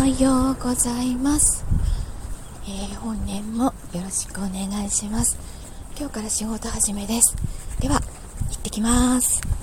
はようございます。本年もよろしくお願いします。今日から仕事始めです。では行ってきます。